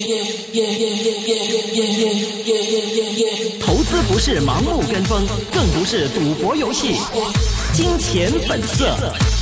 投资不是盲目跟风，更不是赌博游戏。金钱本色。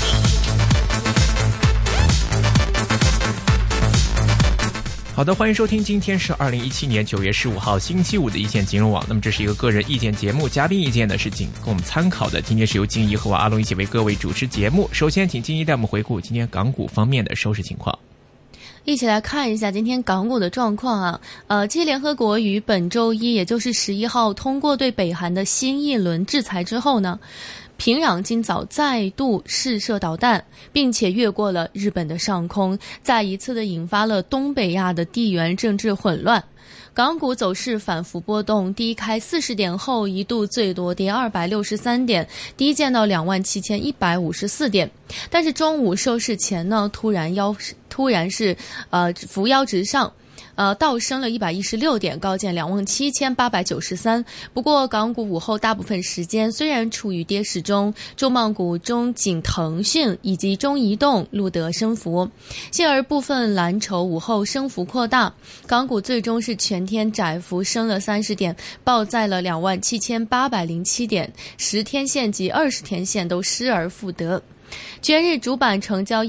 好的，欢迎收听，今天是2017年9月15号星期五的一线金融网。那么这是一个个人意见节目，嘉宾意见呢是仅供我们参考的。今天是由金怡和我阿龙一起为各位主持节目。首先请金怡带我们回顾今天港股方面的收市情况。 一起来看一下今天港股的状况啊。继联合国于本周一，也就是11号通过对北韩的新一轮制裁之后呢，平壤今早再度试射导弹，并且越过了日本的上空，再一次的引发了东北亚的地缘政治混乱。港股走势反复波动，低开40点后一度最多跌263点，低见到27154点。但是中午收市前呢，突然是扶摇直上。倒升了116点，高见27893。不过港股午后大部分时间虽然处于跌势中，重磅股中仅腾讯以及中移动录得升幅，幸而部分蓝筹午后升幅扩大，港股最终是全天窄幅升了30点，报在了27807点，10天线及20天线都失而复得。全日主板成交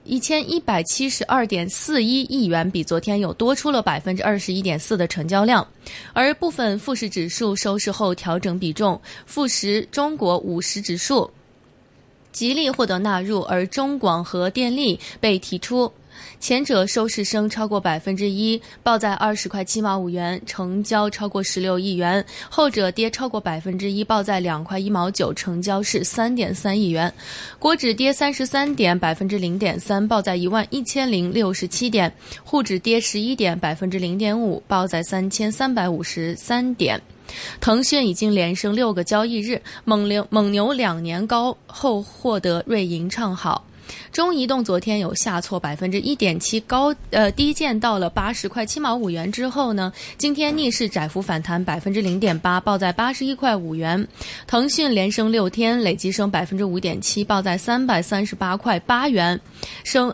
1172.41亿元，比昨天有多出了21.4%的成交量。而部分富时指数收市后调整比重，富时中国50指数吉利获得纳入，而中广和电力被提出。前者收市升超过1%，报在20块7毛5元，成交超过16亿元；后者跌超过1%，报在2块1毛9，成交是3.3亿元。国指跌33点，0.3%，报在11067点；沪指跌11点，0.5%，报在3353点。腾讯已经连升6个交易日，蒙牛2年高后获得瑞银唱好。中移动昨天有下挫1.7%，低见到了80块7毛5元之后呢，今天逆势窄幅反弹0.8%，报在81块5元。腾讯连升6天，累计升5.7%，报在338块8元，升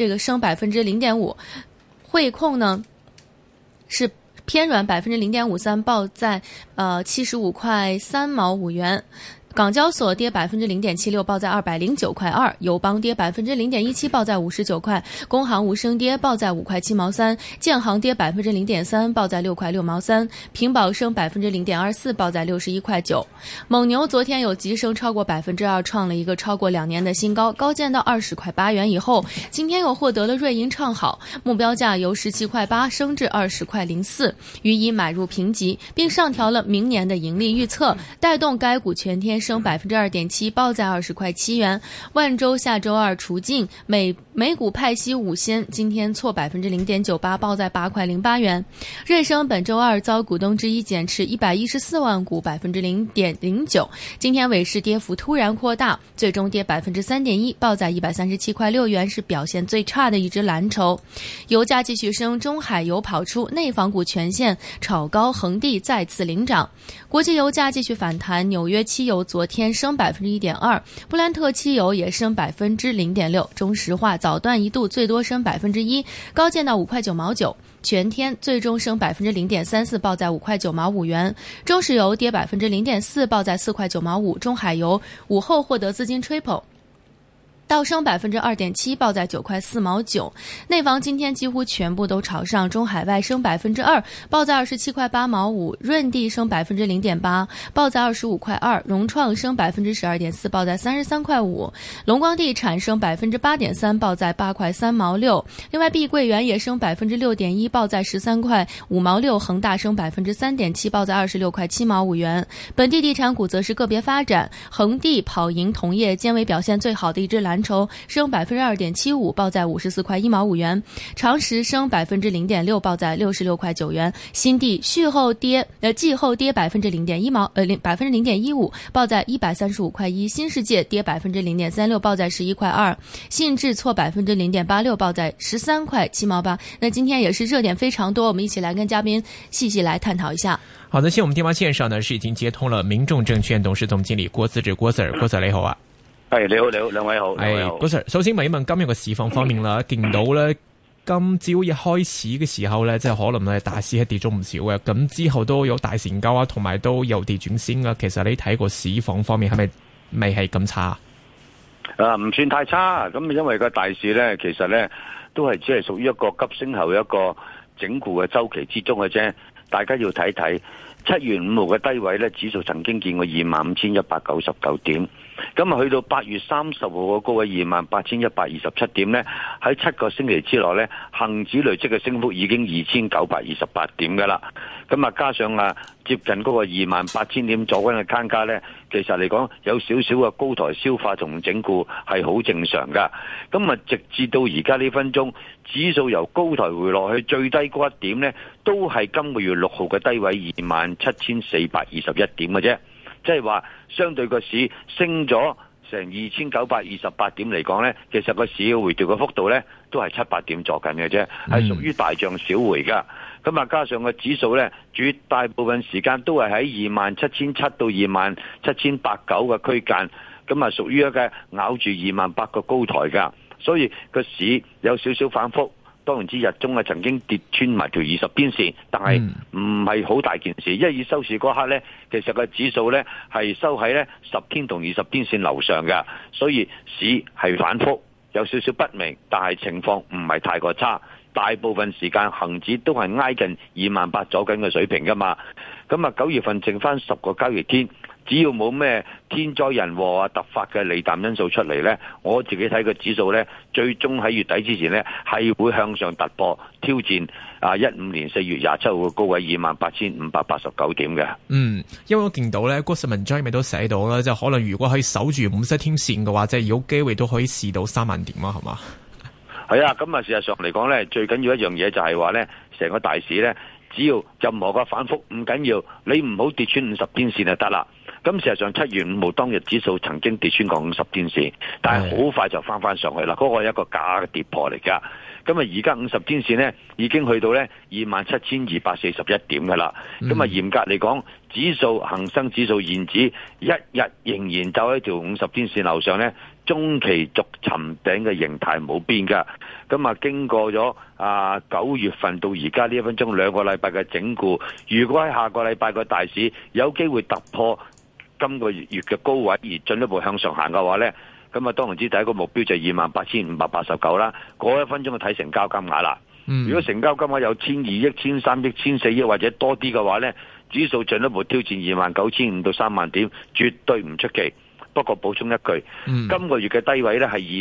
0.5%。汇控呢是偏软0.53%，报在75块3毛5元。港交所跌0.76%，报在209块2；友邦跌0.17%，报在59块；工行无声跌，报在5块7毛3；建行跌0.3%，报在6块6毛3；平保升0.24%，报在61块9。蒙牛昨天有急升超过2%，创了一个超过2年的新高，高见到20块8元以后，今天又获得了瑞银唱好，目标价由17块8升至20块04，予以买入评级，并上调了明年的盈利预测，带动该股全天升2.7%，报在20块7元。万洲下周二除净，每股派息5仙，今天挫0.98%，报在8块08元。瑞声本周二遭股东之一减持114万股，0.09%，今天尾市跌幅突然扩大，最终跌3.1%，报在137块6元，是表现最差的一只蓝筹。油价继续升，中海油跑出，内房股全线炒高，恒地再次领涨。国际油价继续反弹，纽约期油昨天升1.2%，布兰特期油也升0.6%，中石化早段一度最多升1%，高见到5块9毛9，全天最终升0.34%，报在5块9毛5元。中石油跌0.4%，报在4块9毛5。中海油午后获得资金吹捧，倒升2.7%，报在9块4毛9。内房今天几乎全部都朝上，中海外升2%，报在27块8毛5；润地升0.8%，报在25块2；融创升12.4%，报在33块5；龙光地产升8.3%，报在8块3毛6。另外，碧桂园也升6.1%，报在13块5毛6；恒大升3.7%，报在26块7毛5元。本地地产股则是个别发展，恒地、跑赢、同业兼为表现最好的一只蓝筹，升2.75%，报在54块1毛5元。长实升0.6%，报在66块9元。新地季后跌0.15%，报在135块1。新世界跌0.36%，报在11块2。信智挫0.86%，报在13块7毛8。那今天也是热点非常多，我们一起来跟嘉宾细细来探讨一下。 好的，现在我们電話線上呢是已經接通了民眾證券董事總經理郭思治，郭 Sir 你好啊。 係，你好，兩位好。 郭 Sir， 首先問一問今日嘅市況方面啦，見到咧今朝一開始嘅時候咧，即係可能咧大市係跌咗唔少嘅，咁之後都有大成交啊，同埋都由跌轉升啊。其實你睇個市況方面係咪未係咁差？ 唔算太差，咁因為個大市咧，其實咧都係只係屬於一個急升後一個整固嘅周期之中嘅啫。大家要睇睇7月5號嘅低位咧，指數曾經見過25,199點，咁啊去到8月30號嘅高位28,127點咧，喺7個星期之內咧，恒指累積嘅升幅已經2,928點噶啦，咁啊加上接近嗰個28,000點左右嘅間隔咧，其實嚟講有少少嘅高台消化同整固係好正常噶。咁啊直至到而家呢分鐘，指數由高台回落去最低嗰一點咧，都係今個月6號嘅低位27,421點嘅啫。即係話相對個市升咗成2,928點嚟講咧，其實個市嘅回調嘅幅度咧都係700點左近嘅啫，係屬於大漲小回噶。咁啊加上個指數咧，絕大部分時間都係喺27,700到27,890嘅區間，咁啊屬於一個咬住28,000個高台噶，所以個市有少少反覆。當然之日中曾經跌穿埋條20邊線，但係唔係好大件事，因為以收市嗰刻咧，其實個指數咧係收喺咧10天同20邊線樓上嘅，所以市係反覆，有少少不明，但係情況唔係太過差。大部分時間恒指都係挨近28,000左緊嘅水平噶嘛。咁啊9月份剩翻10個交易天，只要冇咩天災人禍啊突發嘅利淡因素出嚟呢，我自己睇個指數呢，最終喺月底之前呢，係會向上突破挑戰15年4月27號嘅高位28,589點嘅。 因為我見到呢嗰份文章咪都寫到啦，即係可能如果可以守住50天線嘅話，即係有機會都可以試到3萬點啊，係嘛？ 係啊，咁啊事實上嚟講呢，最緊要一樣嘢就係話呢，成個大市呢，只要任何個反覆唔緊要，你唔好跌穿50天線就得啦。咁事實上7月5號當日指數曾經跌穿過50天線，但係好快就翻上去啦。嗰個係一個假嘅跌破嚟噶。咁啊而家50天線呢已經去到呢27,241點噶啦。咁啊嚴格嚟講，指數恒生指數現指一日仍然走喺條50天線樓上呢，中期逐尋頂嘅形態冇變噶。咁啊經過咗9月份到而家呢1分鐘2個禮拜嘅整固，如果喺下個禮拜個大市有機會突破今個月嘅高位而進一步向上行嘅話呢，咁啊當然知第一個目標就係28,589啦。嗰1分鐘就睇成交金額啦。如果成交金額有1,200億、1,300億、1,400億或者多啲嘅話呢，指數進一步挑戰29,500到3萬點，絕對唔出奇。不過補充一句，今個月嘅低位呢係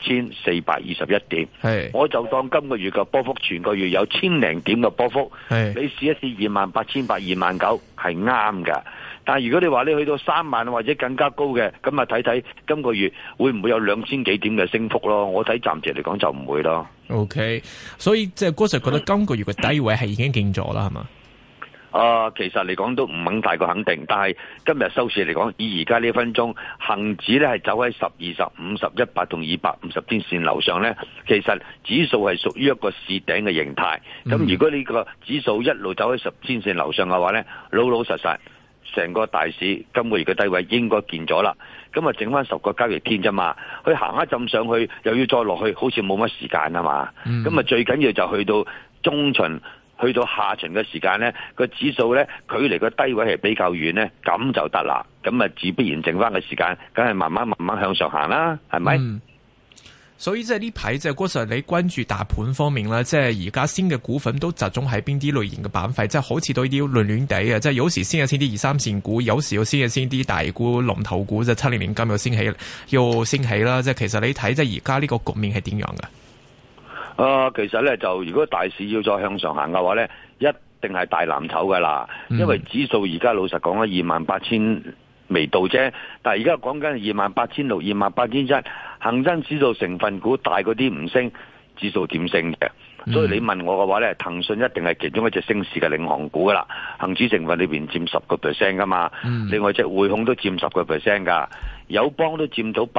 27,421點，我就當今個月嘅波幅全個月有1,000零點嘅波幅，你試一試28,800、29,000係啱㗎。但係如果你話你去到3萬或者更加高嘅，咁啊睇睇今個月會唔會有2,000幾點嘅升幅咯？我睇暫時嚟講就唔會咯。OK， 所以即係嗰時覺得今個月嘅低位係已經見咗啦，係嘛？ 其實嚟講都唔肯太過肯定，但係今日收市嚟講，以而家呢1分鐘，恒指咧係走喺10、20、50、100同250天線樓上咧，其實指數係屬於一個試頂嘅形態。咁如果呢個指數一路走喺10天線樓上嘅話咧，老實實成個大市今個月嘅低位應該見咗啦。咁啊整翻10個交易天啫嘛，佢行一浸上去又要再落去，好似冇乜時間啊嘛。咁啊最緊要就去到中旬。去到下旬嘅時間呢，個指數呢，距離個低位係比較遠呢，咁就得啦。咁啊，自必然剩翻嘅時間，梗係慢慢向上行啦，係咪？ 所以即係呢排即係嗰時你關注大盤方面啦，即係而家先嘅股份都集中喺邊啲類型嘅板塊，即係好似都啲亂亂地啊！即係有時先有先啲2、3線股，有時又先有先啲大股龍頭股，即係700金又升起啦。即係其實你睇即係而家呢個局面係點樣嘅？ 其實咧就如果大市要再向上行嘅話咧，一定係大藍籌噶啦，因為指數而家老實講咧28,000未到啫，但係而家講緊28,600、28,100，恒生指數成分股大嗰啲唔升，指數點升嘅？所以你問我嘅話咧，騰訊一定係其中一隻升市嘅領航股噶啦，恒指成分裏邊佔10% 噶嘛，另外隻匯控都佔10% 噶，友邦都佔到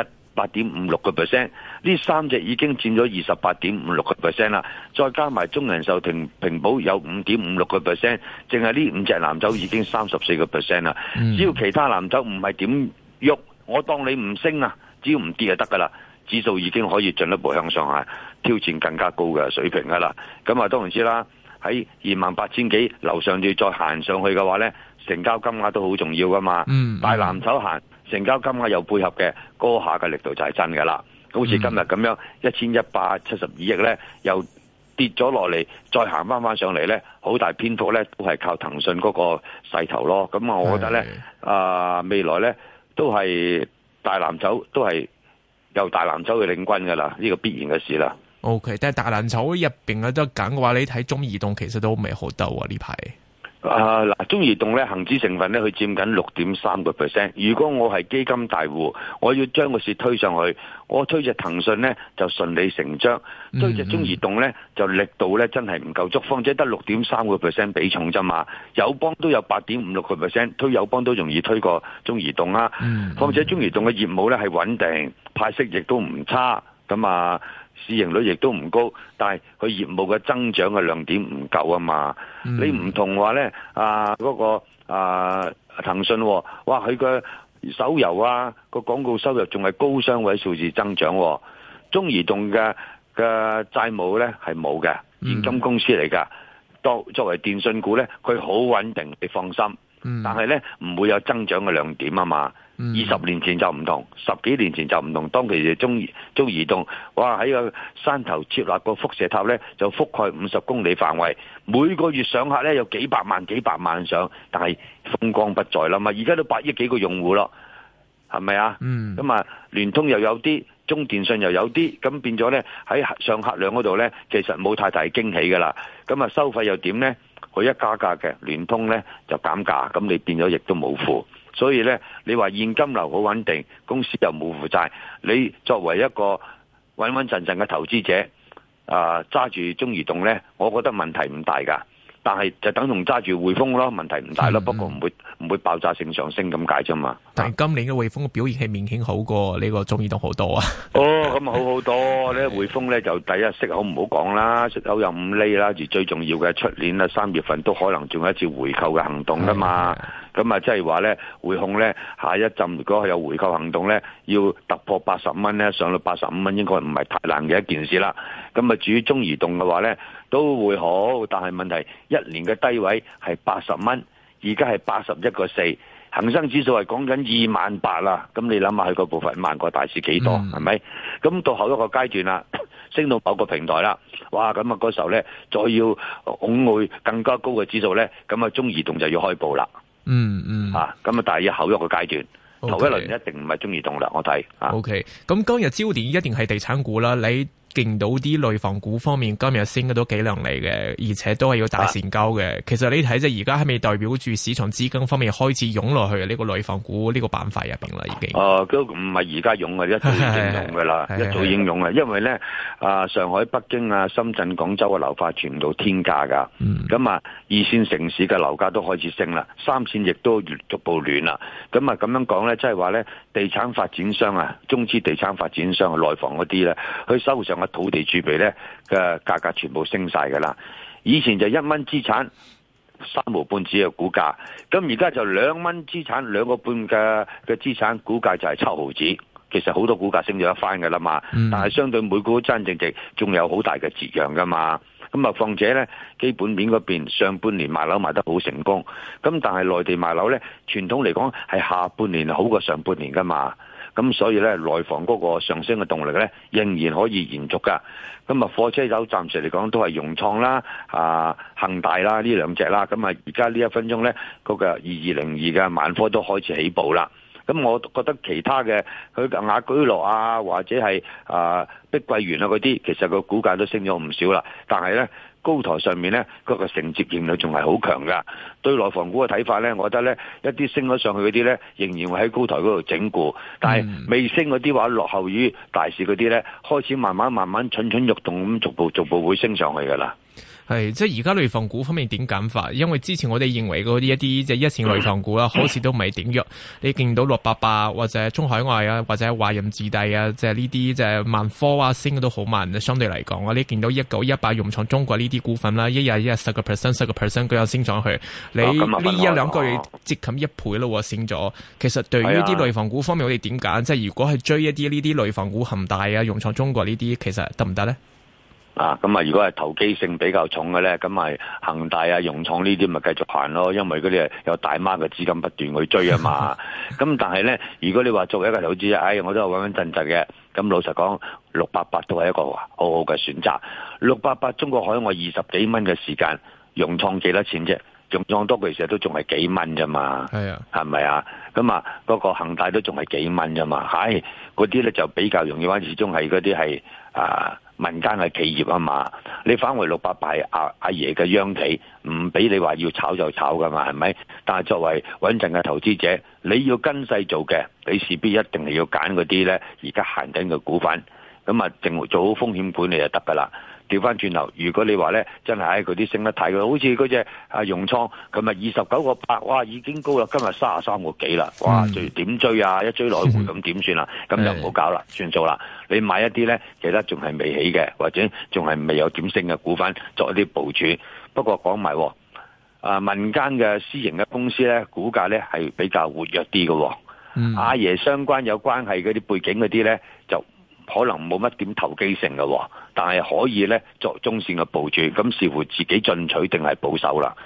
8.56%，呢3隻已經佔咗28.56% 啦，再加埋中人壽平保有5.56%，淨係呢5隻藍籌已經34% 啦。只要其他藍籌唔係點喐，我當你唔升啊，只要唔跌就得噶啦，指數已經可以進一步向上行。 挑戰更加高嘅水平噶啦。咁啊當然知啦，喺28,000幾樓上要再行上去嘅話呢，成交金額都好重要噶嘛。大藍籌行成交金額有配合嘅，嗰下嘅力度就係真噶啦。好似今日咁樣1172億呢，又跌咗落嚟，再行翻上嚟呢，好大篇幅呢都係靠騰訊嗰個勢頭咯。咁啊，我覺得呢，未來呢都係大藍籌都係由大藍籌去領軍噶啦，呢個必然嘅事啦。 OK， 但係大藍籌入邊有得揀嘅話，你睇中移動其實都未好鬥啊呢排。 嗱，中移動咧恒指成分咧，佢佔緊6.3%。如果我係基金大戶，我要將個市推上去，我推隻騰訊咧就順理成章，推隻中移動咧就力度咧真係唔夠足，況且得6.3% 比重啫嘛。友邦都有8.56%，推友邦都容易推過中移動啦。況且中移動嘅業務咧係穩定，派息亦都唔差，咁啊。市盈率亦都唔高，但係佢業務嘅增長嘅亮點唔夠啊嘛。你唔同話咧，嗰個騰訊，哇，佢嘅手遊個廣告收入仲係高雙位數字增長。中移動嘅債務咧係冇嘅，現金公司嚟噶。作為電信股咧，佢好穩定，你放心。但係咧唔會有增長嘅亮點啊嘛。20年前就唔同，10幾年前就唔同。當其時中移動，哇，喺個山頭設立個輻射塔咧，就覆蓋50公里範圍，每個月上客咧有幾百萬上，但係風光不再啦嘛。而家都8億幾個用戶咯，係咪啊？咁啊，聯通又有啲，中電信又有啲，咁變咗咧喺上客量嗰度咧，其實冇太大驚喜噶啦。咁啊，收費又點咧？佢一加價嘅，聯通咧就減價，咁你變咗亦都冇負。所以咧，你話現金流好穩定，公司又冇負債，你作為一個穩穩陣陣嘅投資者，揸住中移動咧，我覺得問題唔大噶。但係就等同揸住匯豐咯，問題唔大咯，不過唔會爆炸性上升咁解啫嘛。 但係今年嘅匯豐嘅表現係明顯好過呢個中移動好多啊。 咁好多咧，匯豐咧就第一息口唔好講啦，息口有5厘啦，而最重要嘅出年啊3月份都可能仲有一次回購嘅行動噶嘛。咁啊，即係話咧，匯控咧下一陣如果係有回購行動咧，要突破80蚊咧，上到85蚊應該唔係太難嘅一件事啦。咁啊，至於中移動嘅話咧，都會好，但係問題1年嘅低位係80蚊，而家係81.4，恒生指數係講緊28,000啦。咁你諗下佢個部分慢過大市幾多，係咪？咁到後一個階段啦，升到某個平台啦，哇！咁啊嗰時候咧，再要拱去更加高嘅指數咧，咁啊中移動就要開步啦。咁啊，但係要後一個階段，頭一輪一定唔係中移動啦，我睇。 OK，咁今日焦點一定係地產股啦，你見到啲內房股方面今日升得都幾亮麗嘅，而且都係要大成交嘅。其實你睇即係而家係咪代表住市場資金方面開始湧落去呢個內房股呢個板塊入邊啦？已經都唔係而家湧嘅，一早已經湧嘅啦，一早已經湧嘅。因為咧上海、北京啊、深圳、廣州嘅樓價全部天價噶，咁啊二線城市嘅樓價都開始升啦，三線亦都逐步暖啦。咁啊咁樣講咧，即係話咧，地產發展商啊，中資地產發展商內房嗰啲咧，佢手上嘅土地儲備咧嘅價格全部升晒噶啦。以前就1蚊資產3毫半紙嘅股價，咁而家就2蚊資產2個半嘅資產股價就係7毫紙。其實好多股價升咗一番噶啦嘛，但係相對每股真正值仲有好大嘅折讓噶嘛。咁啊，況且咧基本面嗰邊上半年賣樓賣得好成功，咁但係內地賣樓咧傳統嚟講係下半年好過上半年噶嘛。咁所以咧，內房嗰個上升嘅動力咧，仍然可以延續噶。咁啊，貨車油暫時嚟講都係融創啦、恒大啦呢兩隻啦。咁啊，而家呢1分鐘咧，嗰個2202嘅萬科都開始起步啦。咁我覺得其他嘅佢雅居樂啊，或者係碧桂園啊嗰啲，其實個股價都升咗唔少啦。但係咧，高台上面咧，嗰個承接應力仲係好強噶。對內房股嘅睇法咧，我覺得咧，一啲升咗上去嗰啲咧，仍然會喺高台嗰度整固。但係未升嗰啲話，落後於大市嗰啲咧，開始慢慢蠢蠢欲動咁，逐步會升上去噶啦。係，即係而家內房股方面點揀法？因為之前我哋認為嗰啲一啲即係一線內房股啦，好似都唔係點弱。你見到688或者中海外啊，或者華潤置地啊，即係呢啲即係萬科啊，升都好慢。相對嚟講，你見到1918融創中國呢啲股份啦，一日10%、10%佢又升上去。你呢1-2個月接近1倍咯，升咗。其實對於啲內房股方面，我哋點揀？即係如果係追一啲呢啲內房股，恒大啊、融創中國呢啲，其實得唔得咧？ 咁如果係投機性比較重嘅咧，咁咪恒大啊、融創呢啲咪繼續行咯，因為嗰啲係有大媽嘅資金不斷去追啊嘛。咁但係咧，如果你話作為一個投資者，我都係穩穩陣陣嘅。咁老實講，688都係一個好好嘅選擇。688中國海外20幾蚊嘅時間，融創幾多錢啫？融創多其實都仲係幾蚊啫嘛。 係啊， 係咪啊？咁嗰個恒大都仲係幾蚊啫嘛。嗰啲咧就比較容易玩，始終係嗰啲係民間嘅企業啊嘛，你返回688係阿爺嘅央企，唔俾你話要炒就炒噶嘛，係咪？但係作為穩陣嘅投資者，你要跟勢做嘅，你勢必一定係要揀嗰啲咧而家行緊嘅股份，咁淨做好風險管理就得噶啦。調翻轉頭，如果你話咧真係嗰啲升得太過，好似嗰隻融創，佢咪29個8，哇已經高啦，今日33個幾啦，哇點追啊？一追來回咁點算啦？咁就唔好搞啦，算數啦。你買一啲咧，其實仲係未起嘅，或者仲係未有點升嘅股份，作一啲部署。不過講埋，民間嘅私營嘅公司咧，股價咧係比較活躍啲嘅。阿爺相關有關係嗰啲背景嗰啲咧，就可能冇乜點投機性嘅，但係可以咧作中線嘅部署，咁視乎自己進取定係保守啦。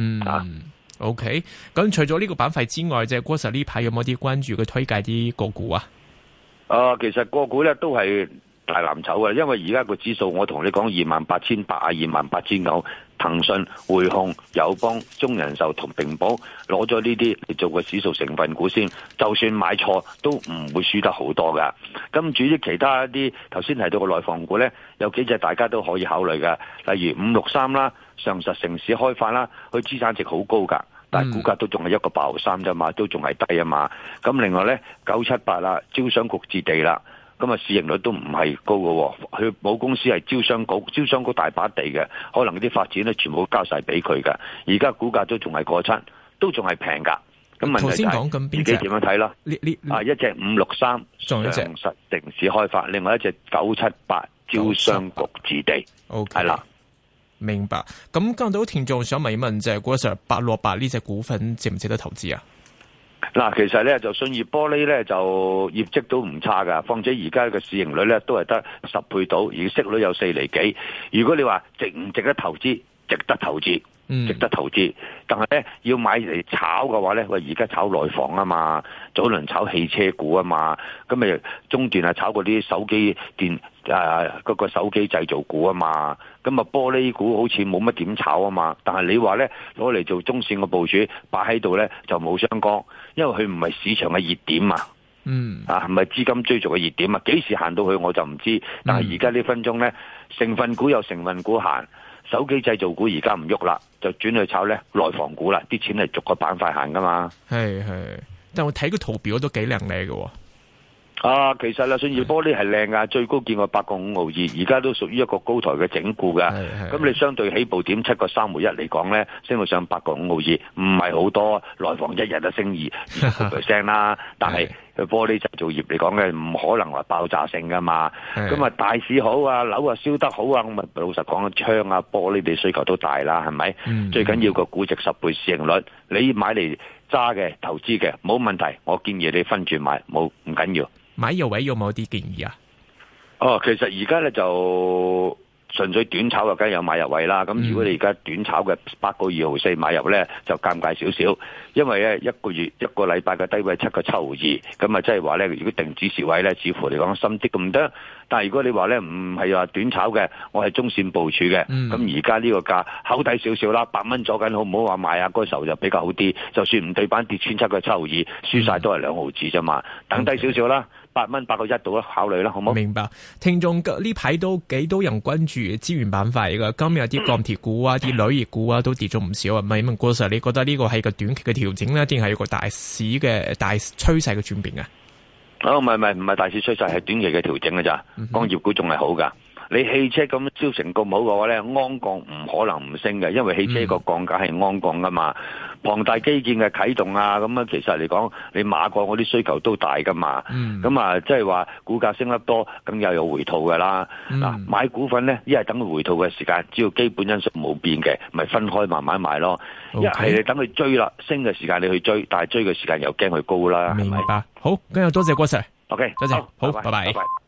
OK， 咁除咗呢個板塊之外，即係郭 Sir 呢排有冇啲關注嘅推介啲個股啊？ 其實個股咧都係大藍籌嘅，因為而家個指數我同你講28,800啊、28,900，騰訊、匯控、友邦、中人壽同平保攞咗呢啲嚟做個指數成分股先，就算買錯都唔會輸得好多噶。咁至於其他一啲頭先提到嘅內房股咧，有幾隻大家都可以考慮嘅，例如563啦、上實城市開發啦，佢資產值好高噶，但係股價都仲係1.83啫嘛，都仲係低啊嘛。咁另外咧978啦，招商局置地啦。咁市盈率都唔係高嘅，佢母公司係招商局大把地嘅，可能啲發展咧全部交晒俾佢嘅。而家股價都仲係過七，都仲係平噶。咁問題就係自己點樣睇啦？一隻563上實城市開發，另外一隻978招商局置地，係啦。 明白。咁今到聽眾想問一問，就係郭 Sir 868呢隻股份值唔值得投資啊？ 其實咧就信義玻璃咧就業績都唔差噶，況且而家嘅市盈率咧都係得10倍到，而息率有4厘幾。如果你話值唔值得投資，值得投資，值得投資。但係咧要買嚟炒嘅話咧，而家炒內房啊嘛，早輪炒汽車股啊嘛，咁咪中段炒嗰啲手機電嗰個手機製造股啊嘛，咁玻璃股好似冇乜點炒啊嘛。但係你話咧攞嚟做中線嘅部署擺喺度咧就冇相干，因為佢唔係市場嘅熱點啊。唔係資金追逐嘅熱點啊。幾時行到去我就唔知。但係而家呢分鐘咧，成分股有成分股行，手機製造股而家唔喐啦，就轉去炒咧內房股啦。啲錢係逐個板塊行噶嘛。係， 但我睇個圖表都幾靚麗嘅。 其實啦，信義玻璃係靚噶，最高見過8.5毫二，而家都屬於一個高台嘅整固噶。咁你相對起步點7.3毫一嚟講咧，升到上8.5毫二，唔係好多。內房一日就升20% 啦，但係玻璃製造業嚟講咧，唔可能話爆炸性噶嘛。咁大市好啊，樓啊燒得好啊，咁老實講，窗啊玻璃嘅需求都大啦，係咪？最緊要個估值10倍市盈率，你買嚟揸嘅投資嘅冇問題，我建議你分住買，唔緊要。 買入位有冇啲建議啊？ 其實而家咧就純粹短炒嘅，梗係有買入位啦。咁如果你而家短炒嘅8.2毫4買入咧，就尷尬少少，因為咧一個禮拜嘅低位7.7毫二，咁即係話咧，如果定止蝕位咧，似乎嚟講深啲咁多。但係如果你話咧唔係話短炒嘅，我係中線部署嘅，咁而家呢個價厚底少少啦，8蚊左緊，好唔好話買啊？嗰時候就比較好啲，就算唔對板跌穿7.7毫二，輸晒都係2毫子啫嘛，等低少少啦。8蚊8.1度啦，考慮啦，好唔好？明白。 聽眾呢排都幾多人關注資源板塊嘅，今日啲鋼鐵股啊、啲鋁業股啊都跌咗唔少啊。問郭 Sir，你覺得呢個係個短期嘅調整咧，定係一個大市嘅大趨勢嘅轉變啊？ 唔係大市趨勢，係短期嘅調整嘅咋。鋼業股仲係好噶。你汽車咁銷成咁好嘅話咧，鞍鋼唔可能唔升嘅，因為汽車個鋼架係鞍鋼噶嘛。龐大基建嘅啟動啊，咁其實嚟講，你馬鋼嗰啲需求都大噶嘛。咁即係話股價升得多，咁又有回吐噶啦。買股份咧，一係等佢回吐嘅時間，只要基本因素冇變嘅，咪分開慢慢買咯。一係你等佢追啦，升嘅時間你去追，但係追嘅時間又驚佢高啦。 明白。好，今日多謝郭 Sir。 OK， 多謝。好，拜拜。